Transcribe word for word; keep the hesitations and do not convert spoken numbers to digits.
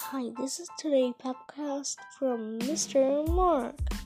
Hi, this is today podcast from Mister Mark.